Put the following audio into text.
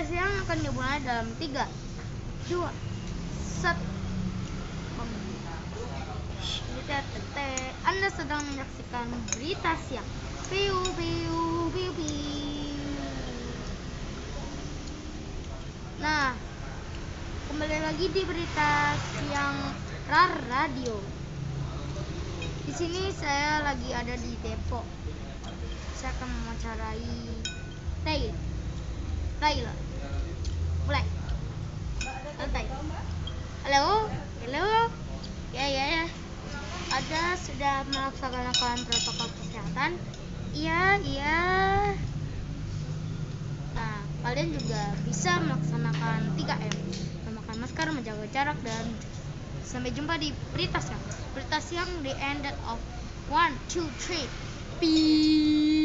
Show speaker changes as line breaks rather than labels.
siang akan dimulai dalam 3, 2, 1. Anda sedang menyaksikan berita siang. Piu piu piu piu. Nah, kembali lagi di berita siang RAR Radio. Di sini saya lagi ada di Depok. Saya akan mewawancarai Taylor. Mulai. Santai. Halo. Ya. Ada sudah melaksanakan protokol kesehatan? Iya. Nah, kalian juga bisa melaksanakan 3M. Memakai masker, menjaga jarak, dan sampai jumpa di berita siang. Berita siang the end of 1, 2, 3. Peace.